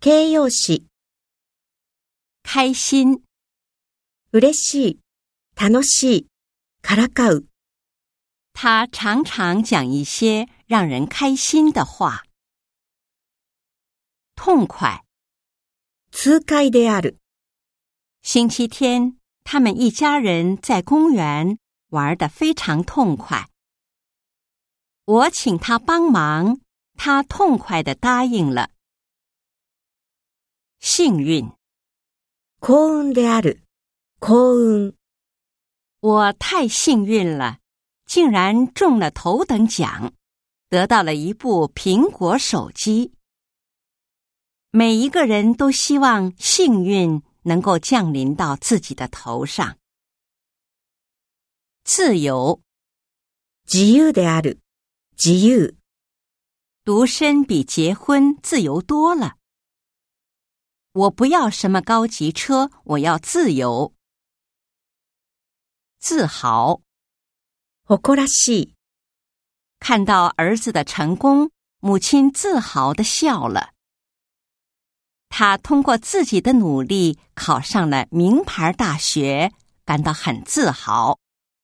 形容詞、 开心、 嬉しい、楽しい、からかう。 他常常讲一些让人开心的话。痛快。 痛快である。 星期天，他们一家人在公园玩得非常痛快。我请他帮忙，他痛快地答应了。幸运。 幸運である。幸運。 我太幸运了，竟然中了头等奖，得到了一部苹果手机。每一个人都希望幸运能够降临到自己的头上。自由。 自由である。自由。 独身比结婚自由多了。我不要什么高级车，我要自由。自豪。 誇らしい。 看到儿子的成功，母亲自豪地笑了。他通过自己的努力考上了名牌大学，感到很自豪。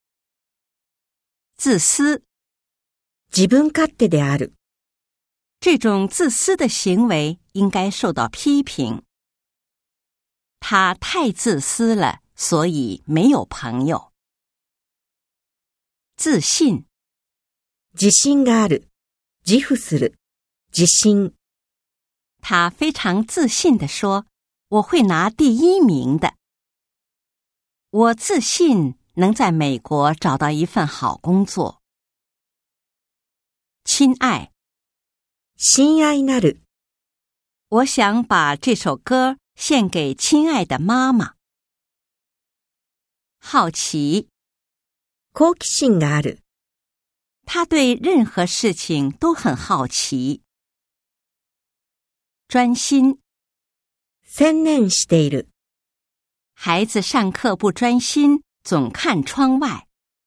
自私。 自分勝手である。 这种自私的行为应该受到批评。他太自私了，所以没有朋友。自信。 自信がある。自負する。自信。 他非常自信地说，我会拿第1名的。我自信能在美国找到一份好工作。亲爱。 親愛なる。 我想把这首歌献给亲爱的妈妈。好奇。 好奇心がある。 他对任何事情都很好奇。专心。 専念している。 孩子上课不专心，总看窗外。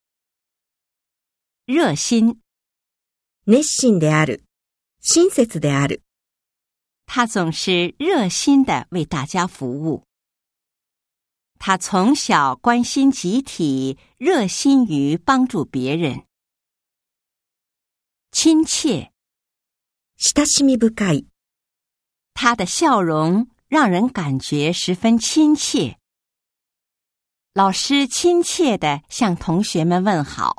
热心。 熱心である。親切である。 他总是热心地为大家服务。他从小关心集体，热心于帮助别人。亲切。 親しみ深い。 他的笑容让人感觉十分亲切。老师亲切地向同学们问好。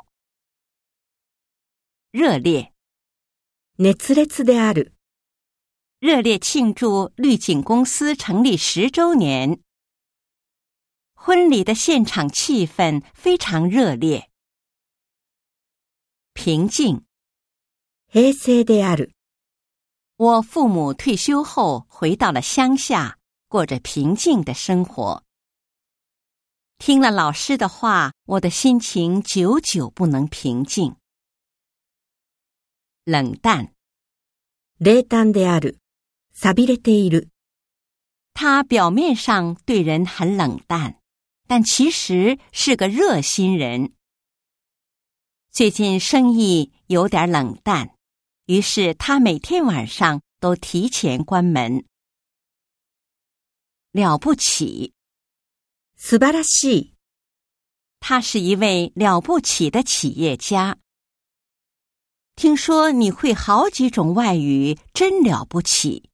热烈。 熱烈である。 热烈庆祝绿景公司成立10周年。婚礼的现场气氛非常热烈。平静。 平静である。 我父母退休后回到了乡下，过着平静的生活。听了老师的话，我的心情久久不能平静。冷淡。 冷淡である。寂れている。 他表面上对人很冷淡，但其实是个热心人。最近生意有点冷淡，于是他每天晚上都提前关门。了不起。 素晴らしい。 他是一位了不起的企业家。听说你会好几种外语，真了不起。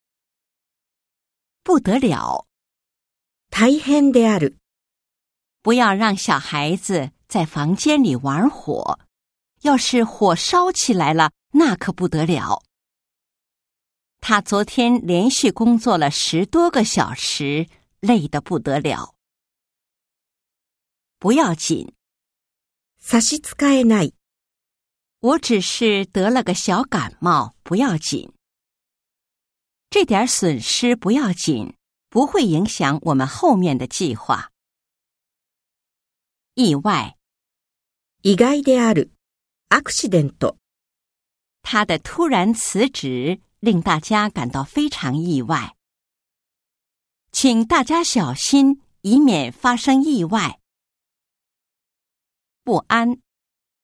不得了。 大変である。 不要让小孩子在房间里玩火，要是火烧起来了，那可不得了。他昨天连续工作了10多个小时，累得不得了。不要紧。 差し支えない。 我只是得了个小感冒，不要紧。这点损失不要紧，不会影响我们后面的计划。意外。 意外である。アクシデント。 他的突然辞职令大家感到非常意外。请大家小心，以免发生意外。不安。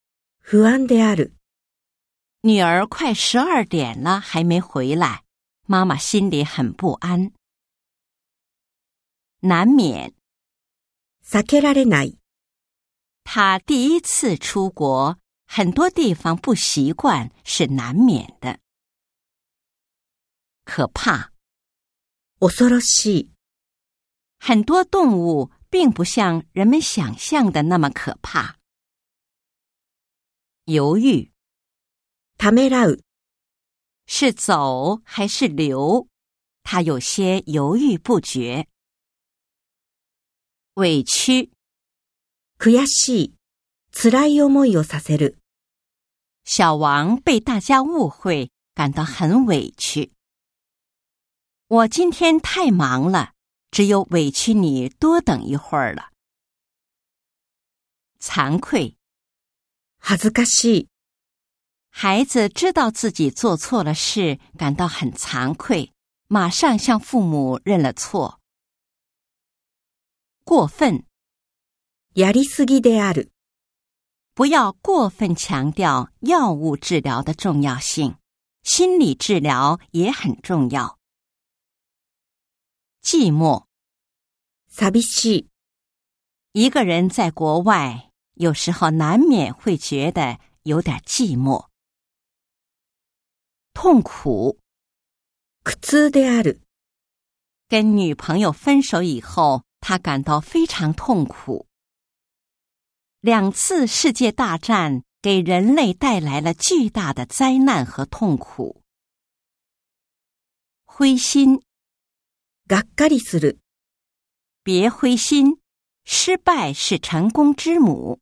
不安である。 女儿快12点了还没回来， 妈妈心里很不安。难免， 避けられない。 他第一次出国，很多地方不习惯是难免的。可怕， 恐ろしい。 很多动物并不像人们想象的那么可怕。犹豫， ためらう。 是走还是留？他有些犹豫不决。委屈， 悔しい。辛い思いをさせる。 小王被大家误会，感到很委屈。我今天太忙了，只有委屈你多等一会儿了。惭愧， 恥ずかしい。 孩子知道自己做错了事，感到很惭愧，马上向父母认了错。过分， やりすぎである。 不要过分强調藥物治療的重要性，心理治療也很重要。寂寞， 寂しい。 一个人在国外，有时候难免会觉得有点寂寞。痛苦， 苦痛である。 跟女朋友分手以后，他感到非常痛苦。2次世界大战给人类带来了巨大的灾难和痛苦。灰心， がっかりする。 别灰心，失败是成功之母。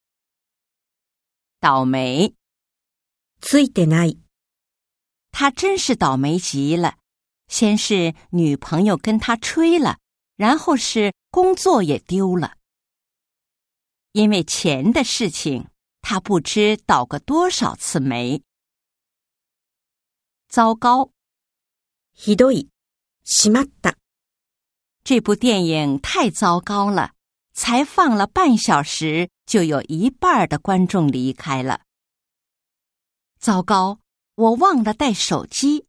倒霉， ついてない。 他真是倒霉极了。先是女朋友跟他吹了，然后是工作也丢了。因为钱的事情，他不知倒过多少次霉。糟糕， ひどい。しまった。 这部电影太糟糕了，才放了半小时，就有一半的观众离开了。糟糕，我忘了带手机。